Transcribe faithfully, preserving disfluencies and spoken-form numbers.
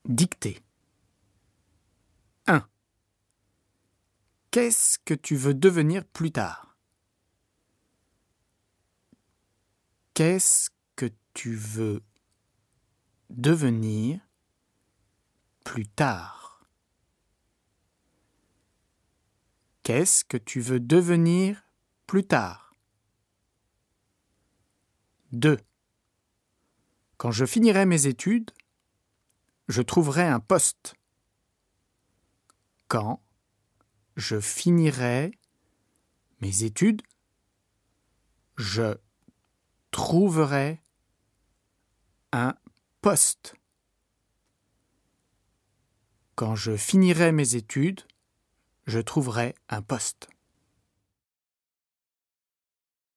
Dictée. un. Qu'est-ce que tu veux devenir plus tard? Qu'est-ce que tu veux devenir plus tard? Qu'est-ce que tu veux devenir plus tard? deux. Quand je finirai mes études, je trouverai un poste. Quand je finirai mes études, je trouverai un poste. Quand je finirai mes études, je trouverai un poste.